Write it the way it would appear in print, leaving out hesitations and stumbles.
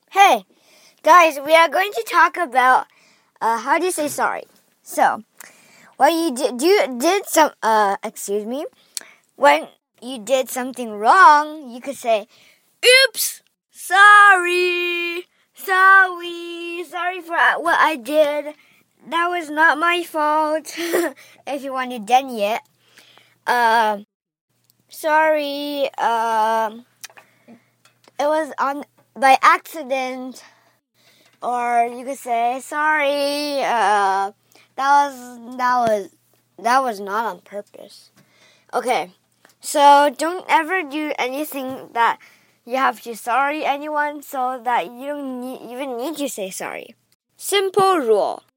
Hey, guys, we are going to talk about how do you say sorry. So, when you when you did something wrong, you could say, "Oops, sorry for what I did. That was not my fault." If you want to deny it, sorry. It was by accident. Or you could say, sorry, that was not on purpose. Okay, so don't ever do anything that you have to sorry anyone so that you don't even need to say sorry. Simple rule.